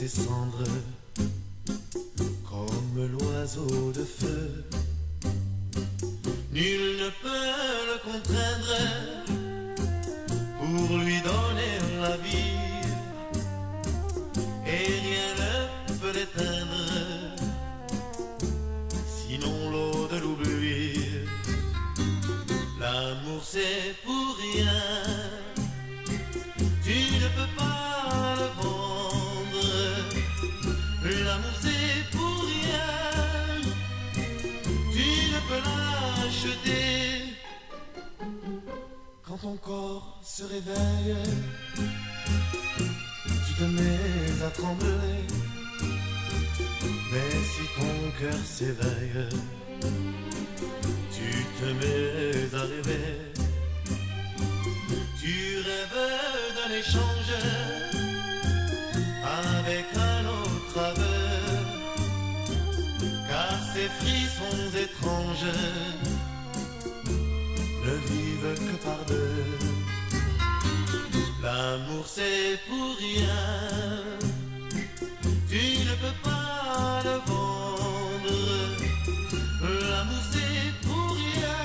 ses cendres comme l'oiseau de feu. Nul ne peut le contraindre pour lui donner la vie, et rien ne peut l'éteindre, sinon l'eau de l'oubli. L'amour c'est pour rien, tu ne peux pas le vendre. L'amour c'est pour rien, tu ne peux l'acheter. Quand ton corps se réveille, tu te mets à trembler. Mais si ton cœur s'éveille, tu te mets à rêver. Tu rêves d'un échange avec un autre aveu, car ces frissons étranges ne vivent que par deux. L'amour c'est pour rien, tu ne peux pas le vendre. L'amour c'est pour rien,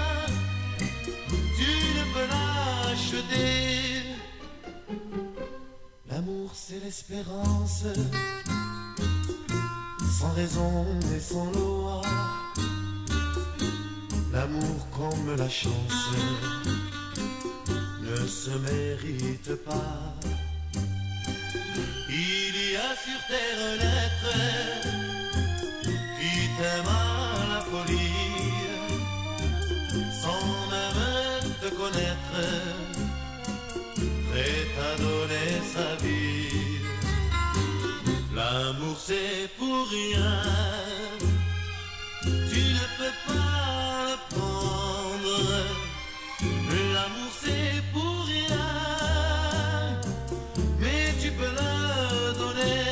tu ne peux l'acheter. L'amour c'est l'espérance, sans raison et sans loi. L'amour comme la chance ne se mérite pas. Il y a sur terre un être qui t'aime à la folie, sans même te connaître, prêt à donner sa vie. L'amour c'est pour rien, tu ne peux pas le prendre. L'amour c'est pour rien, mais tu peux le donner.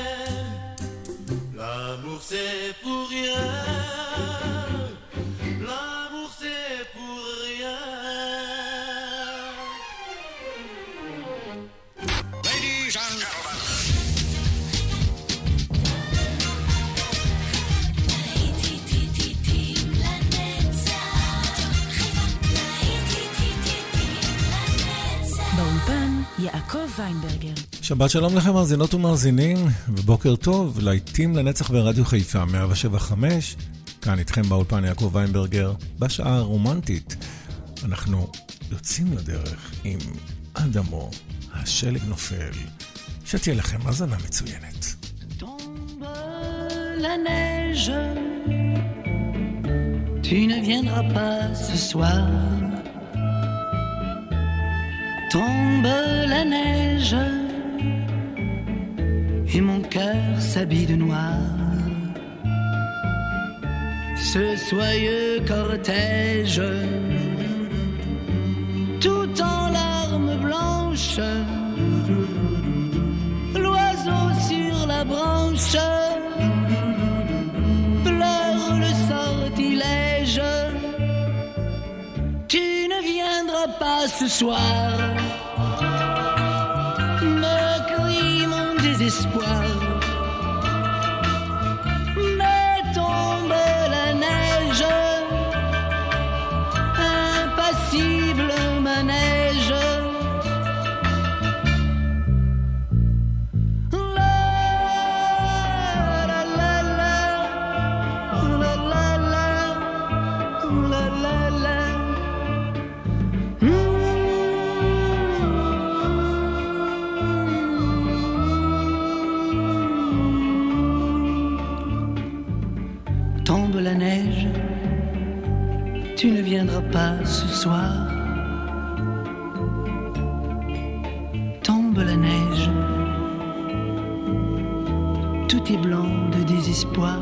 L'amour c'est pour rien, l'amour c'est pour rien. Ladies and gentlemen. באולפן יעקב ויינברגר. שבת שלום לכם מאזינות ומאזינים, ובוקר טוב, להיטים לנצח ברדיו חיפה 107.5. כאן איתכם באולפן יעקב ויינברגר, בשעה הרומנטית. אנחנו יוצאים לדרך עם אדמו, השלג נופל. שתהיה לכם האזנה מצוינת. Tombe la neige, tu ne viendras pas ce soir. Tombe la neige et mon cœur s'habille de noir. Ce soyeux cortège, tout en larmes blanches, l'oiseau sur la branche pleure le sortilège. Tu ne viendras pas ce soir, me crie mon désespoir. Mais tombe la neige, impassible manège. Tombe la neige, tu ne viendras pas ce soir. Tombe la neige, tout est blanc de désespoir.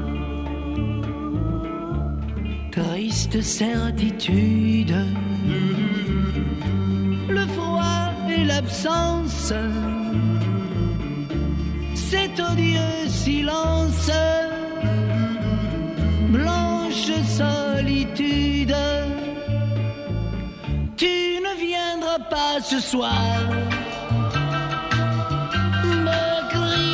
Triste certitude, le froid et l'absence, cet odieux silence, blanche solitude. Tu ne viendras pas ce soir, me crie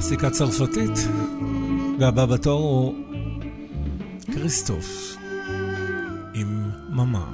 קלאסיקה צרפתית. והבא בתור הוא כריסטוף עם ממה.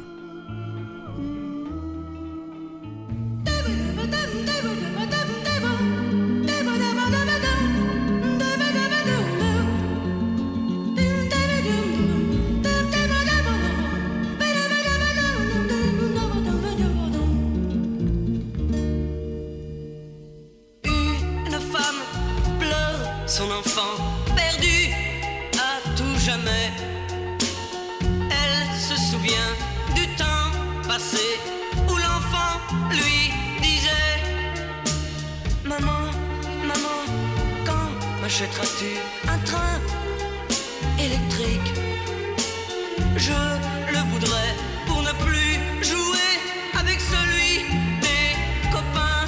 Son enfant perdu à tout jamais. Elle se souvient du temps passé où l'enfant lui disait: Maman, maman, quand m'achèteras-tu un train électrique? Je le voudrais pour ne plus jouer avec celui des copains.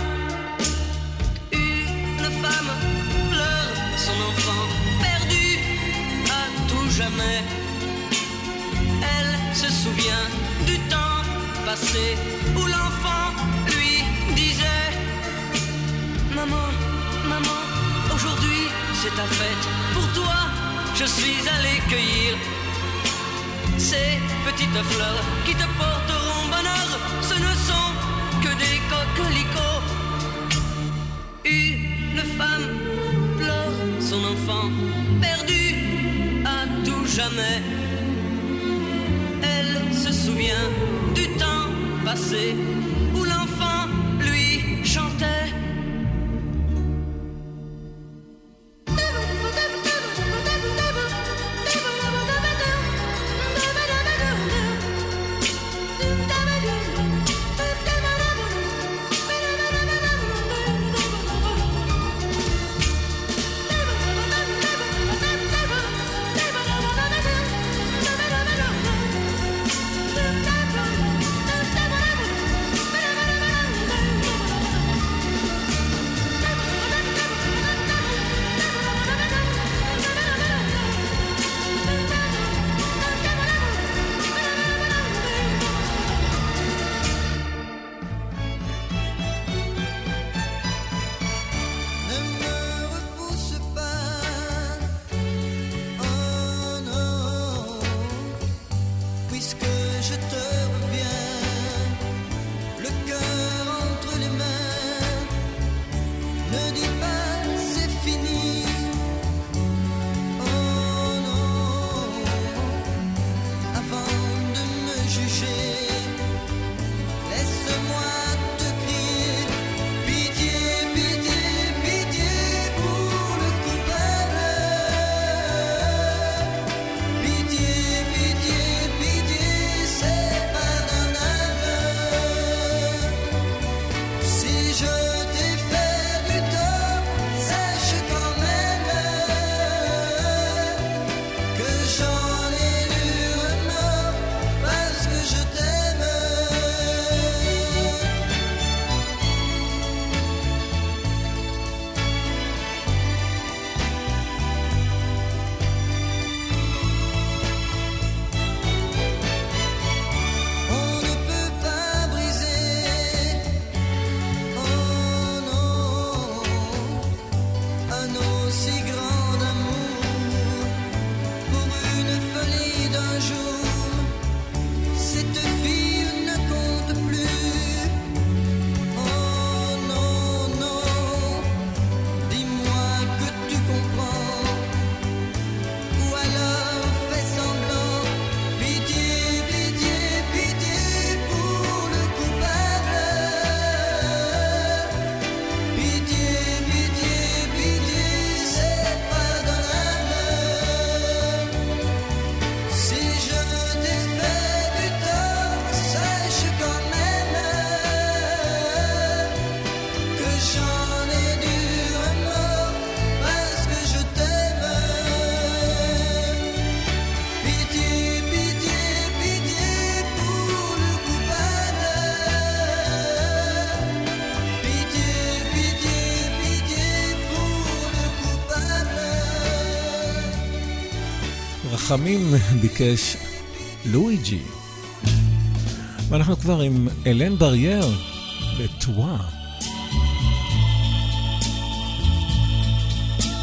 Une femme pleure son enfant perdu à tout jamais. Elle se souvient du temps passé où l'enfant lui disait: Maman, maman, aujourd'hui c'est ta fête. Pour toi, je suis allé cueillir ces petites fleurs qui te porteront bonheur. Ce ne sont que des coquelicots. Une femme pleure son enfant perdu à tout jamais. Elle se souvient du temps passé où l'enfant lui chantait. רחמים ביקש לואיג'י. ואנחנו כבר עם אלן ברייר בטואה.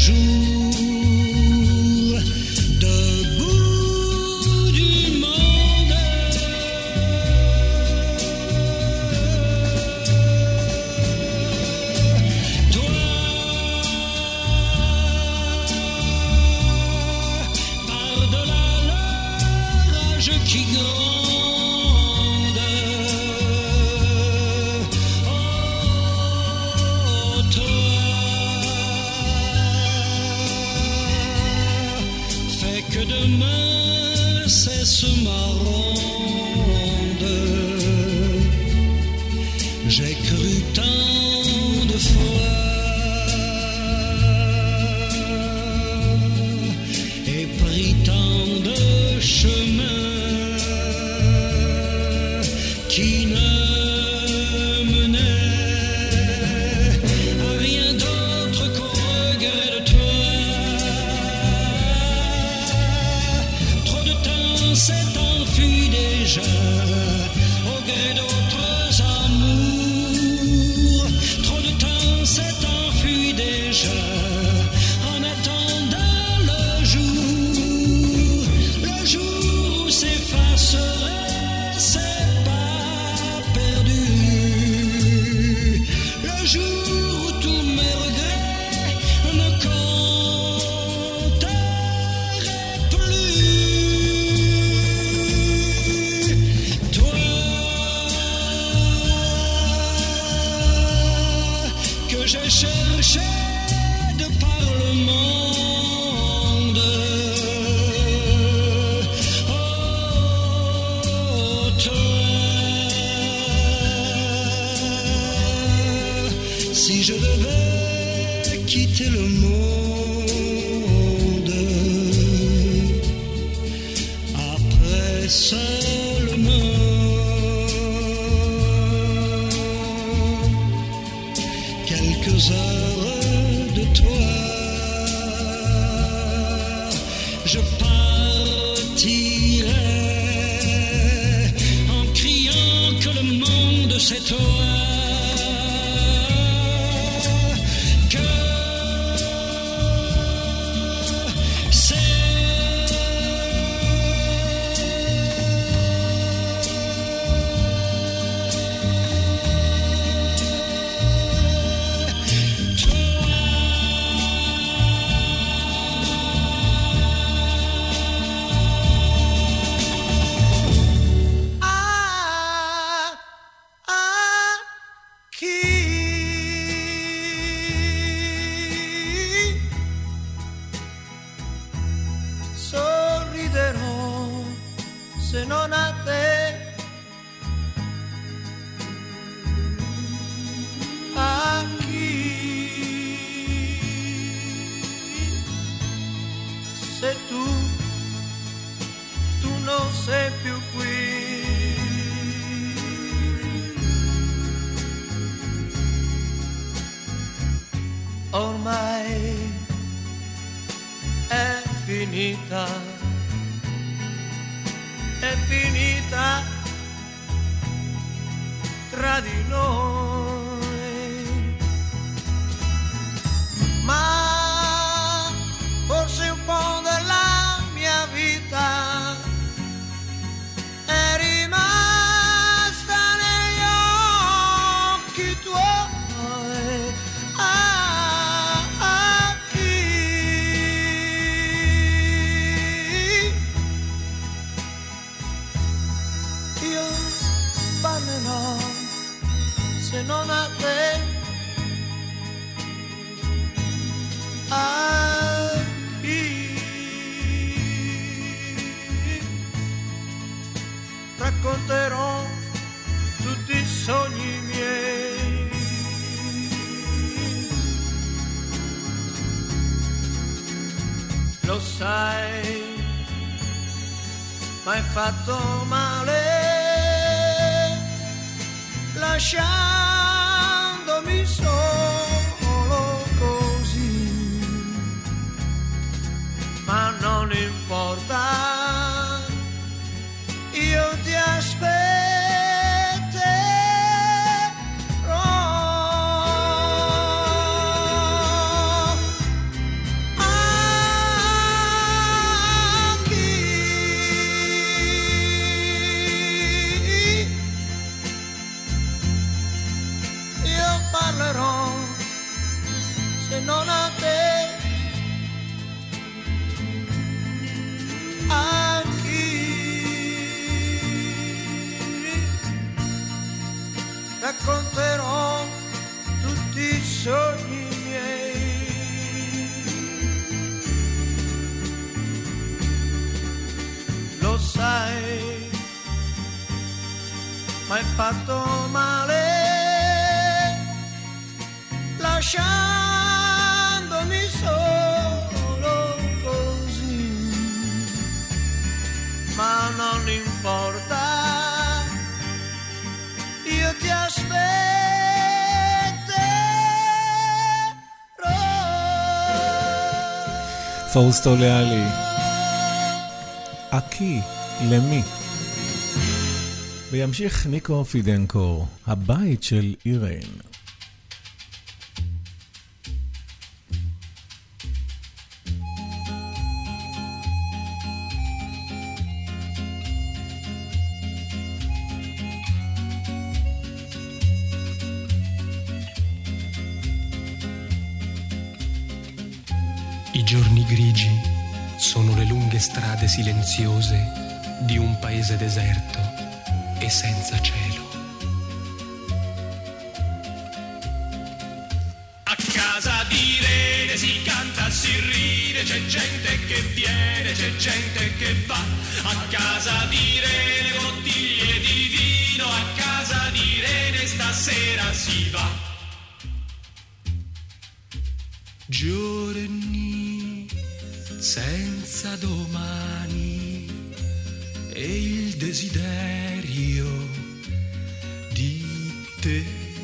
Racconterò tutti i sogni miei. Lo sai, m'hai fatto male, lasciandomi solo così, ma non importa. Io ti aspetterò. m'hai fatto male, lasciandomi solo così, ma non importa, io ti aspetterò. פאוסטו לאלי, אקי למי. וימשיך ניקו פידנקו, הבית של אירן. I giorni grigi sono le lunghe strade silenziose di un paese deserto e senza cielo. A casa di Irene si canta, si ride, c'è gente che viene, c'è gente che va. A casa di Irene bottiglie di vino, a casa di Irene stasera si va. Giorni senza domani e il desiderio di te.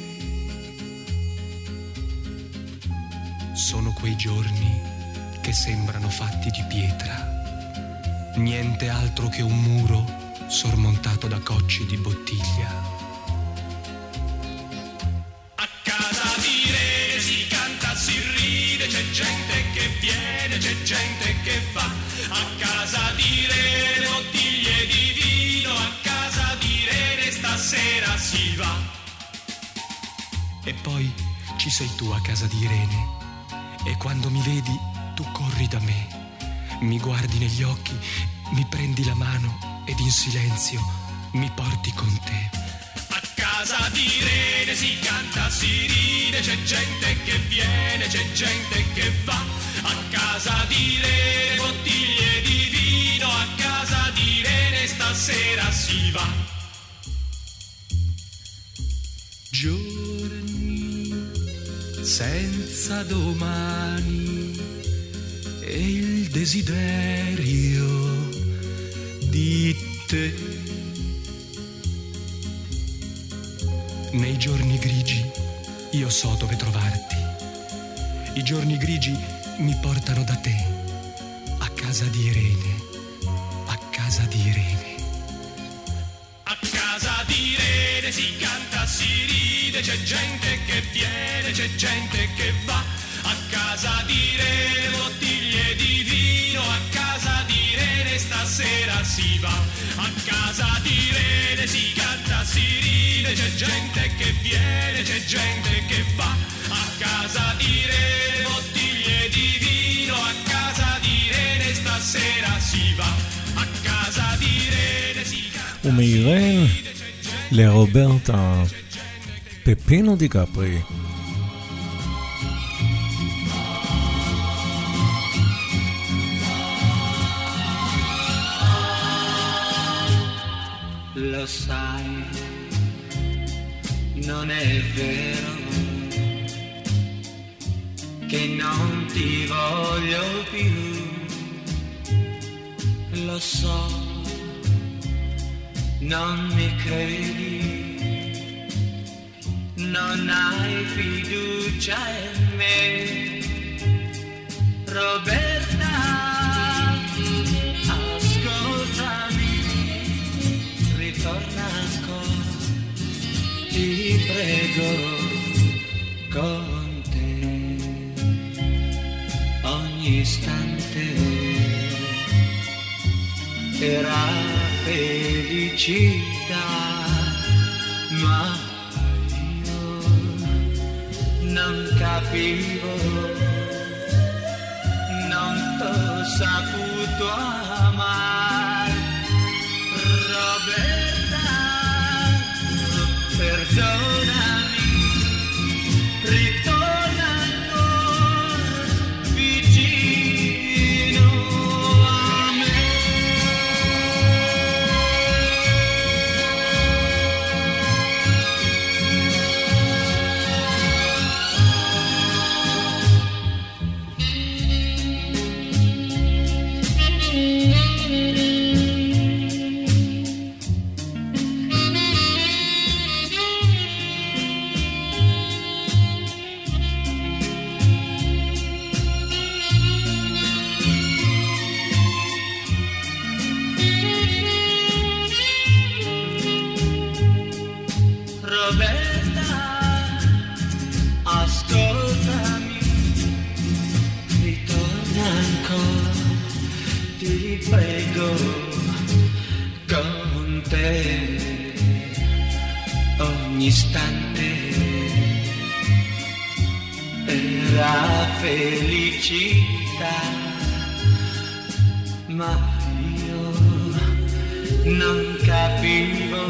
Sono quei giorni che sembrano fatti di pietra, niente altro che un muro sormontato da cocci di bottiglia. A casa di Irene si canta, si ride, c'è gente che viene, c'è gente che va. A casa di Irene bottiglie di vino, a casa di Irene stasera si va. E poi ci sei tu a casa di Irene e quando mi vedi tu corri da me, mi guardi negli occhi, mi prendi la mano ed in silenzio mi porti con te. A casa di Irene si canta, si ride, c'è gente che viene, c'è gente che va. A casa di Irene bottiglie di vino, a casa di Irene stasera si va. Giorni senza domani e il desiderio di te. Nei giorni grigi io so dove trovarti. I giorni grigi mi portano da te, a casa di Irene, a casa di Irene. A casa di Irene si canta, si ride, c'è gente che viene, c'è gente che va. A casa di Irene bottiglie di vino, a casa di Irene stasera si va. A casa di Irene si canta, si ride, c'è gente che viene, c'è gente che va. A casa di Irene bottiglie di vino, a casa di Irene stasera si va. A casa di Irene si canta. ומאירן לרוברטה פפינו דיקפרי. Lo sai, non è vero che non ti voglio più. Lo so, non mi credi, non hai fiducia in me, Roberta, ascoltami, ritorna ancora, ti prego, con te, ogni istante era felicità, ma io non capivo, non t'ho saputo amare, Roberta, perdonami, ritorna ancora vicino a me. ogni istante era felicità, ma io non capivo,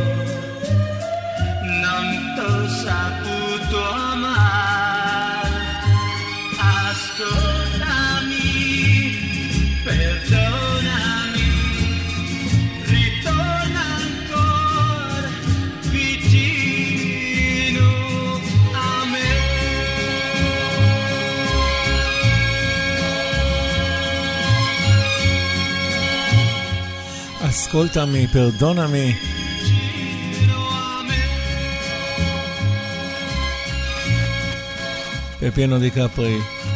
non t'ho saputo amare. Ascoltami, perdonami, ritorna ancora vicino a me. Ascoltami, perdonami. Pepiano di Capri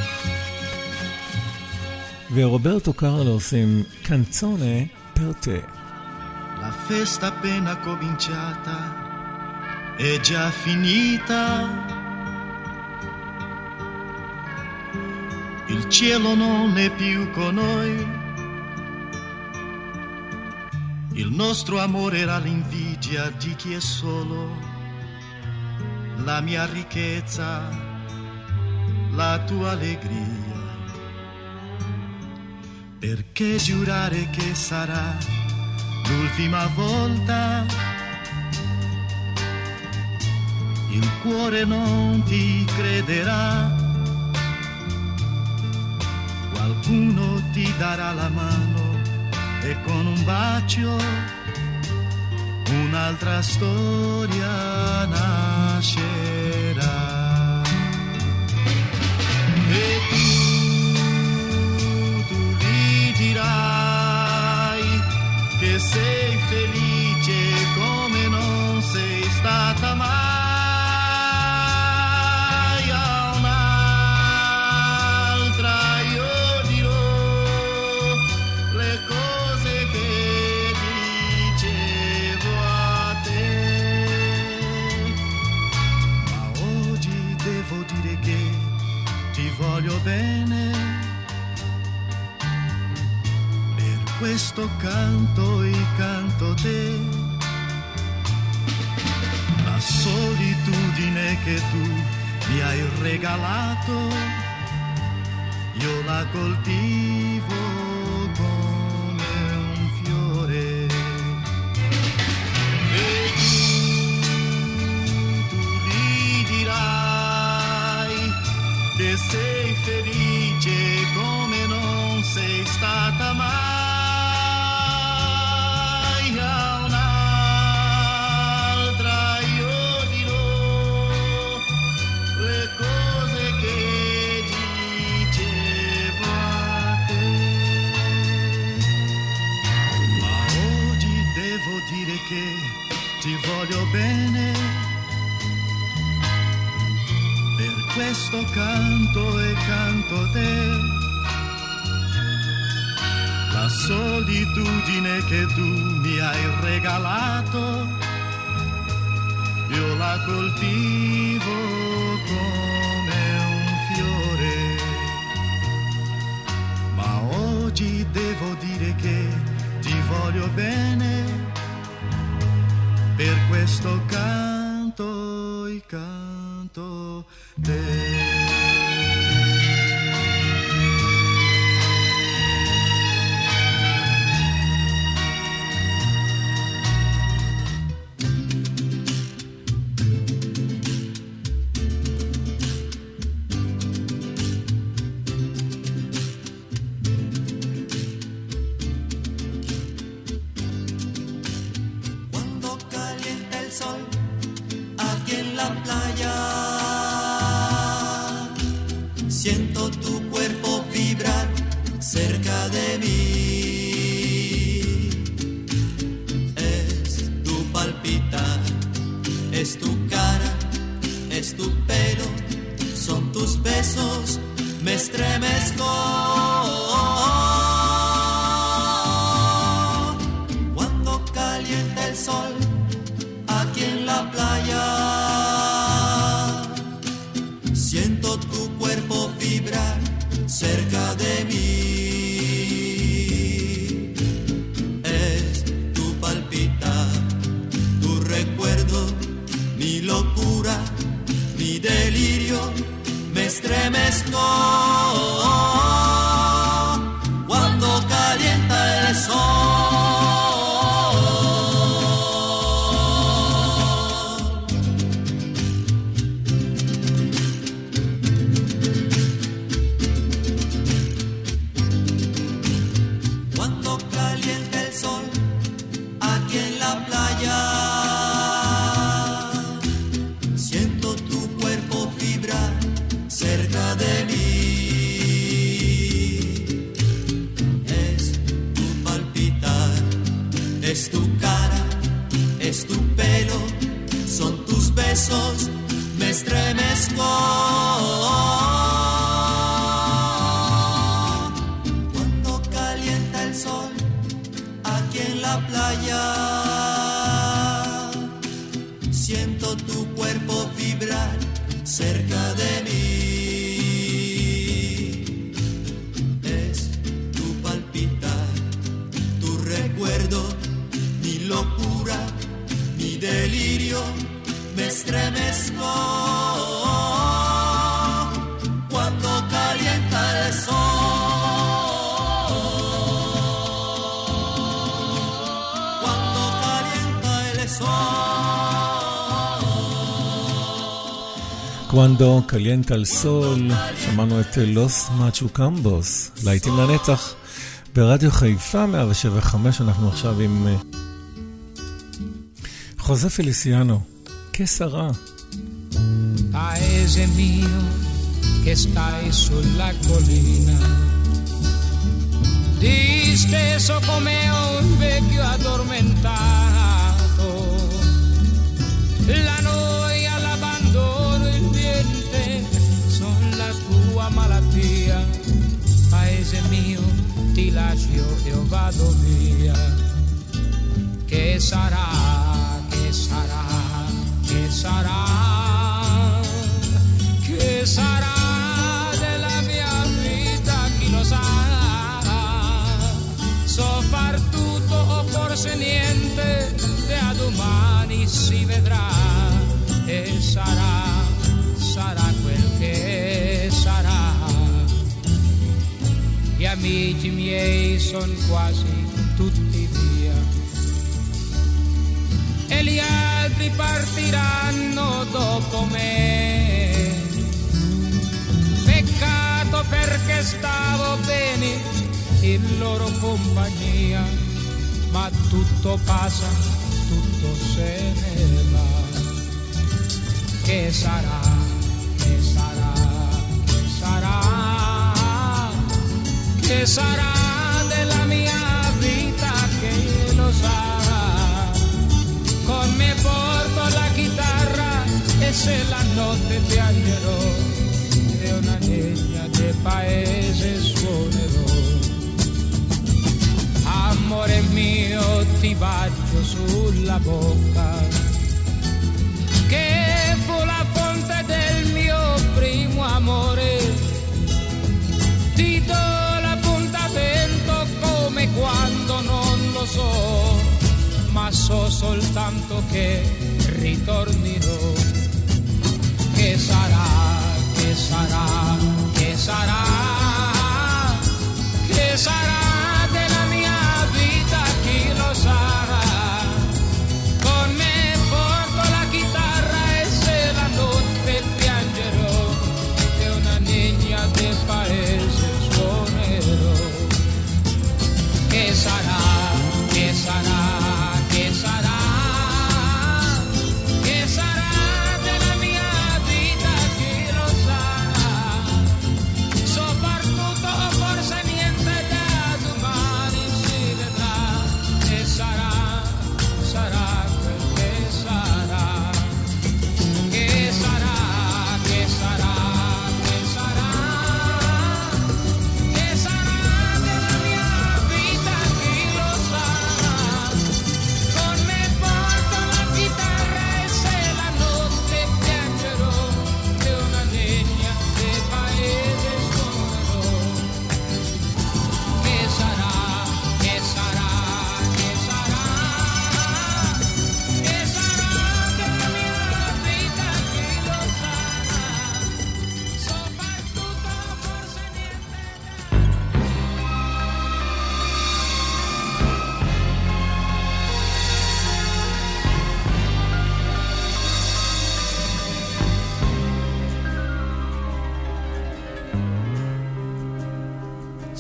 ורוברטו קרלוס עם Canzone per te. La festa appena cominciata è già finita. Il cielo non è più con noi. Il nostro amore era l'invidia di chi è solo, la mia ricchezza, la tua allegria. Perché giurare che sarà l'ultima volta? Il cuore non ti crederà. Qualcuno ti darà la mano e con un bacio un'altra storia nascerà. E tu gli dirai che sei felice come non sei stata mai. A un'altra io dirò le cose che dicevo a te, ma oggi devo dire che ti voglio bene. Per questo canto e canto te. La solitudine che tu mi hai regalato, io la coltivo come un fiore. E tu gli dirai che sei felice come non sei stata mai. A un'altra io dirò le cose che dicevo a te, ma oggi devo dire che ti voglio bene. Per questo canto e canto te. La solitudine che tu mi hai regalato, io la coltivo come un fiore. Ma oggi devo dire che ti voglio bene. Per questo canto e canto te. Siento tu cuerpo vibrar cerca de mí. Es tu palpitar, es tu cara, es tu pelo, son tus besos, me estremezco. Cuando calienta el sol aquí en la playa, siento tu cuerpo vibrar cerca de mí. Es tu palpitar, tu recuerdo, mi estremezco cuando calienta el sol. Cuando calienta el sol aquí en la playa, siento tu cuerpo vibrar cerca de mí. Es tu palpitar, es tu cara, es tu pelo, son tus besos, me estremezco. Cuando calienta el sol aquí en la playa, siento tu cuerpo vibrar cerca de mí. Es tu palpitar, tu recuerdo, mi locura, mi delirio, me estremezco cuando calienta el sol. Cuando calienta el sol. Cuando calienta el sol, שמענו את לוס מצ'וקמבוס, להיטים לנצח ברדיו חיפה 107.5. אנחנו עכשיו עם חוזה פליסיאנו, כשרה. Paese mio che stai sulla collina, disteso come un vecchio addormentato, la noia, l'abbandono, il niente son la tua malattia. Paese mio, ti lascio e vado via. Che sarà, che sarà, che sarà, che sarà della mia vita, chi lo sa. So far tutto o forse niente, da domani si vedrà. E sarà, sarà quel che sarà. Gli amici miei son quasi tutti via e gli altri partiranno dopo me. Peccato perché stavo bene in loro compagnia, ma tutto passa, tutto se ne va. Che sarà, che sarà, che sarà, che sarà della mia vita, che lo sa. Con me porto la chitarra e se la notte piangerò e una legna del paese suonerò. Amore mio, ti bacio sulla bocca, che fu la fonte del mio primo amore. Ti do l'appuntamento come quando non lo so, ma so soltanto che ritornerò. Che sarà, che sarà, che sarà, che sarà della mia vita, chi lo sa. Con me porto la chitarra e se la notte piangerò e una negna del paese suonerò. Che sarà, che sarà, che sarà, che sarà della mia vita, chi lo sa. So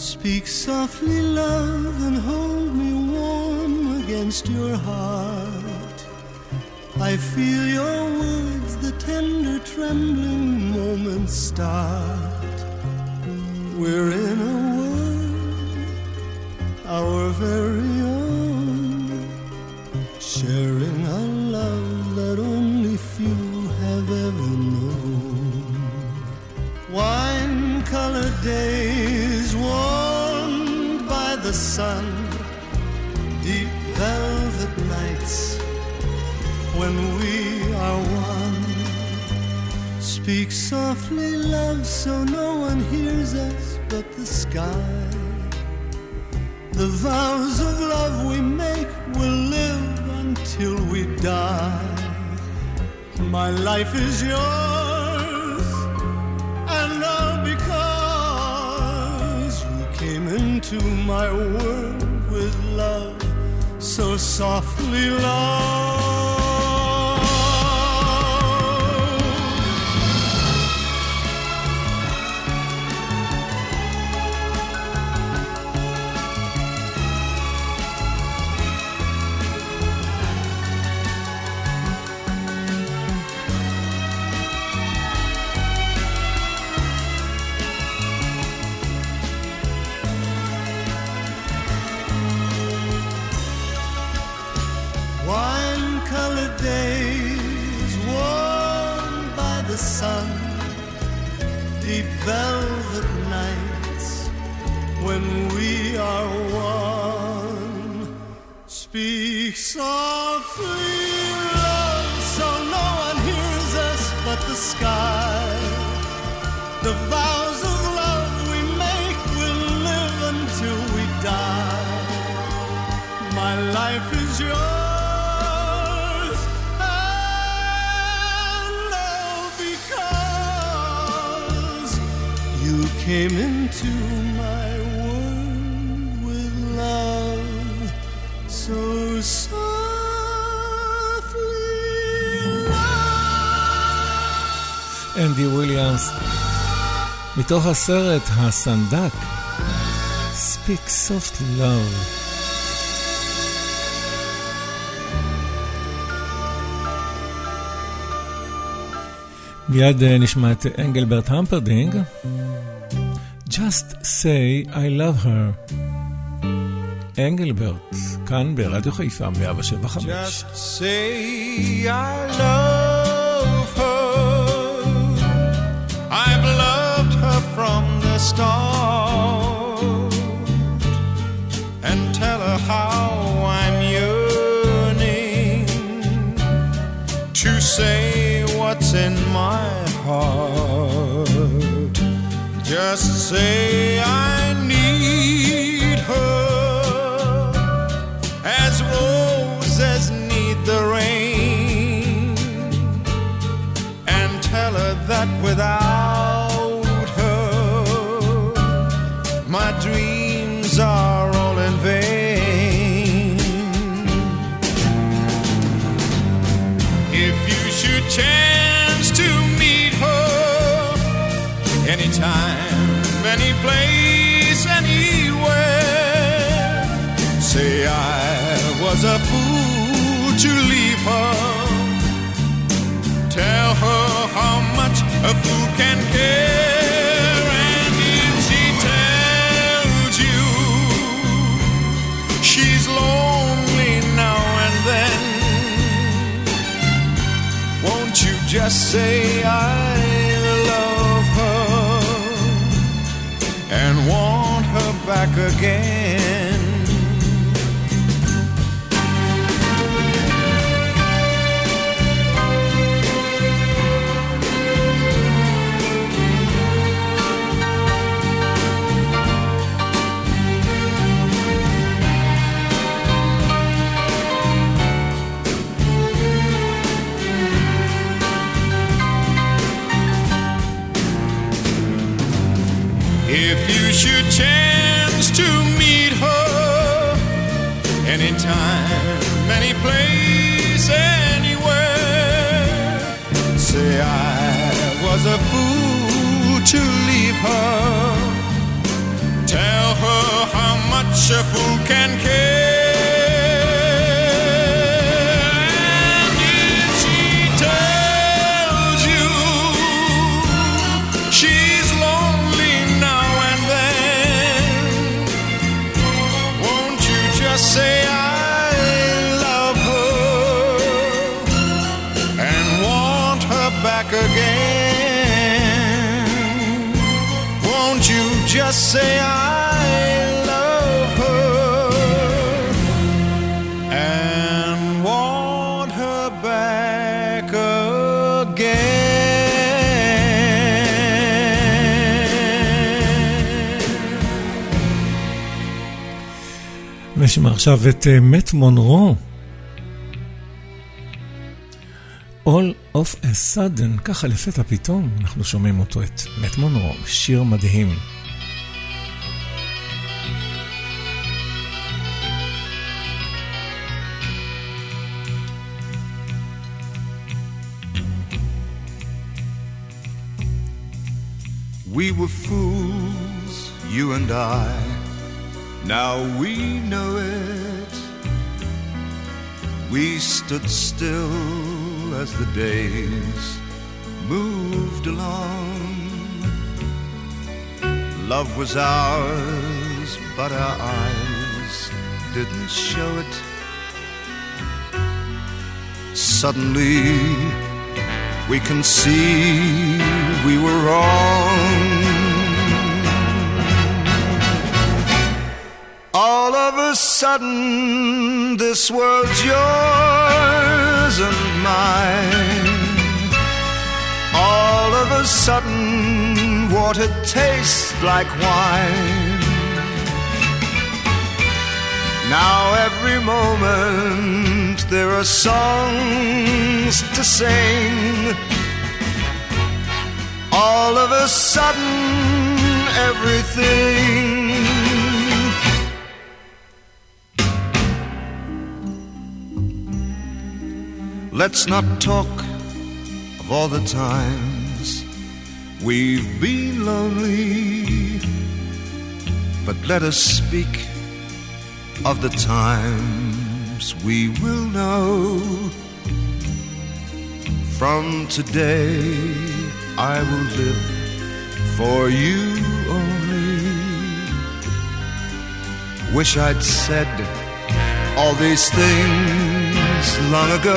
Speak softly, love, and hold me warm against your heart. I feel your words, the tender trembling moments start. We're in a world, our very own, sharing a love that only few have ever known. Wine-colored days warmed by the sun, deep velvet nights when we are one. Speak softly, love, so no one hears us but the sky. The vows of love we make will live until we die. My life is yours, and all because you came into my world with love, so softly, love. Wine-colored days warmed by the sun, deep velvet nights when we are one. Speak softly, love, so no one hears us but the sky. The vows of love we make will live until we die. My life is yours, you came into my world with love, so softly, love. אנדי וויליאמס, מתוך הסרט הסנדק, Speak Softly Love. מיד נשמע את אנגלברט המפרדינג, Just say I love her. אנגלברט, כאן ברדיו חיפה 107.5. Just say I love her. I've loved her from the start. And tell her how I'm yearning to say what's in my heart. Just say I need her as roses need the rain, and tell her that without her my dreams are all in vain. If you should chance to meet her anytime, any place, anywhere, say I was a fool to leave her. Tell her how much a fool can care. And if she tells you she's lonely now and then, won't you just say I love her and want her back again? If you should chance to meet her anytime, any place, anywhere, say I was a fool to leave her. Tell much a fool can care. And if she tells you she's lonely now and then, won't you just say I love her and want her back again? Won't you just say I love her and want her back again? נשמע עכשיו את מט מונרו. All of a sudden, ככה לפתע פתאום, אנחנו שומעים אותו, את מט מונרו, שיר מדהים. We were fools, you and I, now we know it. We stood still as the days moved along. Love was ours, but our eyes didn't show it. Suddenly we can see we were wrong. All of a sudden this world's yours and mine. All of a sudden water tastes like wine. Now every moment there are songs to sing. All of a sudden everything Let's not talk of all the times we've been lonely, but let us speak of the times we will know. From today I will live for you only. Wish I'd said all these things long ago.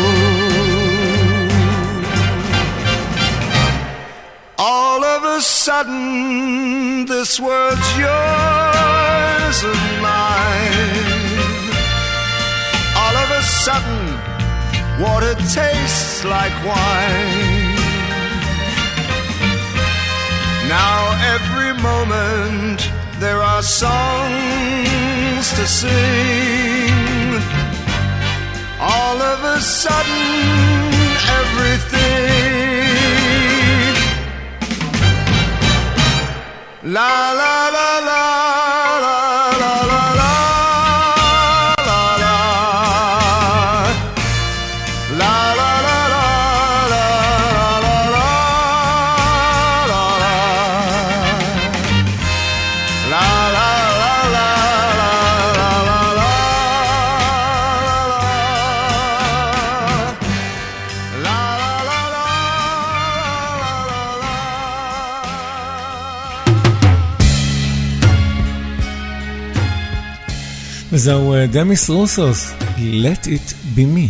All of a sudden this world's yours and mine. All of a sudden water tastes like wine. Now every moment there are songs to sing. All of a sudden everything la la la la la la la la la la la la la la זהו דמיס רוסוס, Let It Be Me.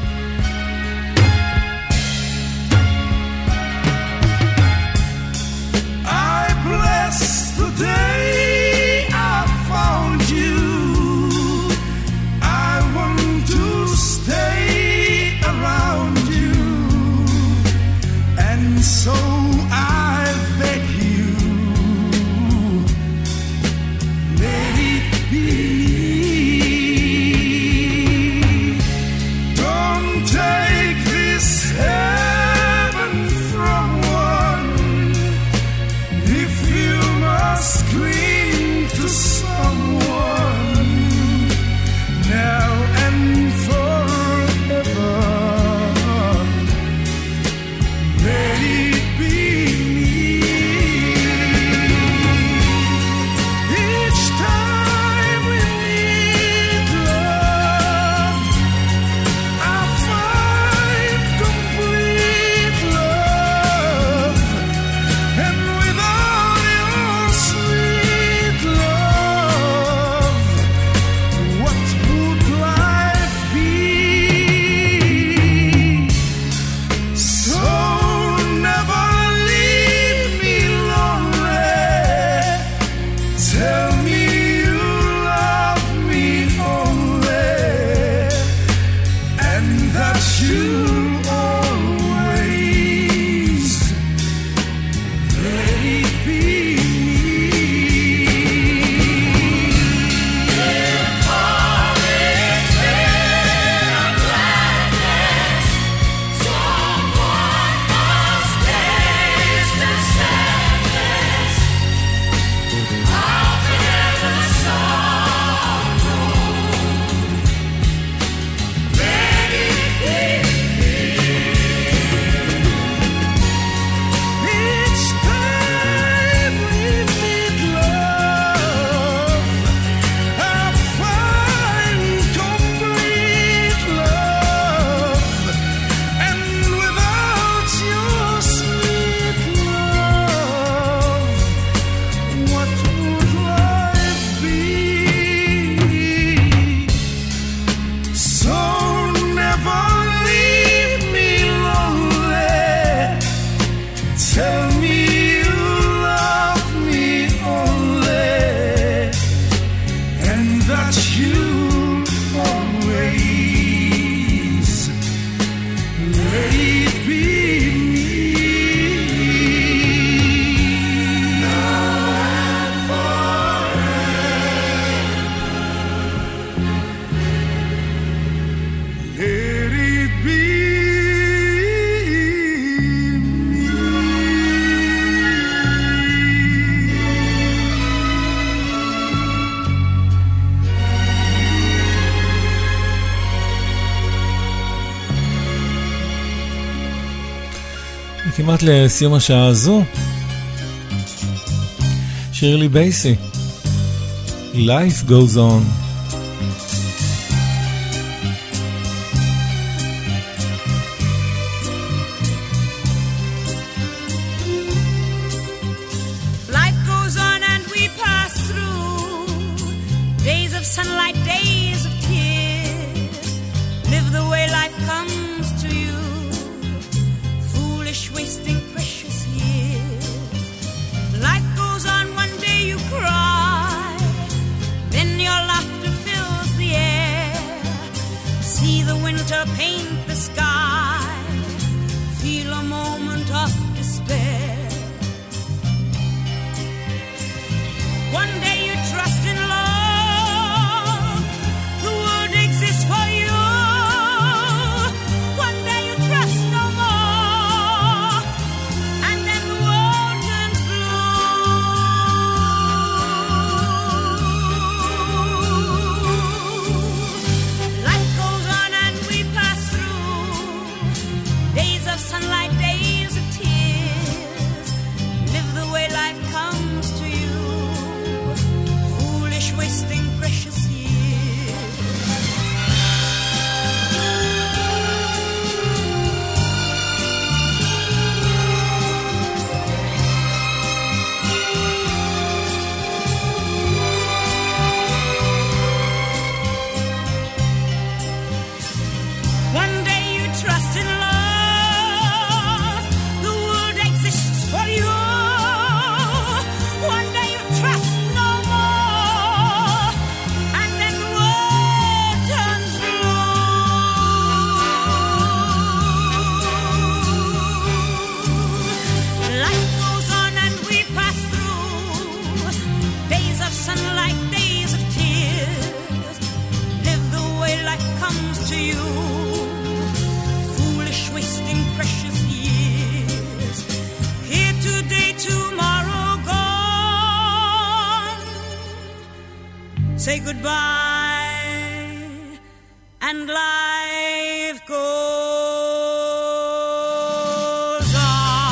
I bless the day I found you. I want to stay around you, and so I beg you, let it be. Don't כמעט לסיום השעה הזו, שירלי בייסי, Life Goes On. Sunlight, days of tears. Live the way life comes to you. Foolish, wasting precious years. Life goes on, one day you cry, then your laughter fills the air. See the winter paint the sky, feel a moment of despair. One day you trust in love, for you. One day you trust no more, and then the world turns blue. Life goes on and we pass through days of sunlight, days of tears. Live the way life comes to you. Foolish, wasting precious years. Say goodbye and life goes on.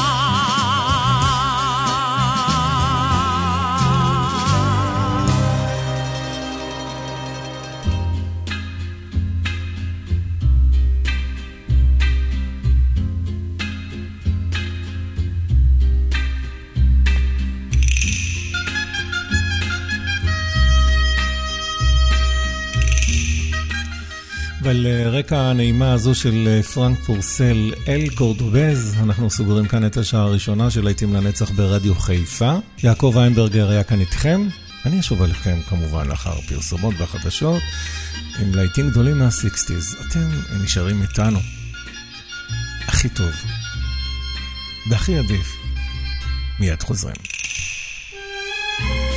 ועל רקע הנעימה הזו של פרנק פורסל אל קורדובז, אנחנו סוגרים כאן את השעה הראשונה של להיטים לנצח ברדיו חיפה. יעקב ויינברגר היה כאן איתכם. אני אשוב עליכם כמובן לאחר פרסומות והחדשות עם להיטים גדולים מה-60s. אתם נשארים איתנו. הכי טוב והכי עדיף. מיד חוזרים.